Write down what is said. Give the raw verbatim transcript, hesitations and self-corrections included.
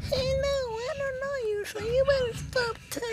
Hey, no, I don't know you, so you better stop